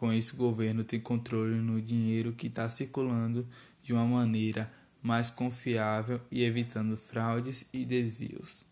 Com isso, o governo tem controle no dinheiro que está circulando de uma maneira mais confiável e evitando fraudes e desvios.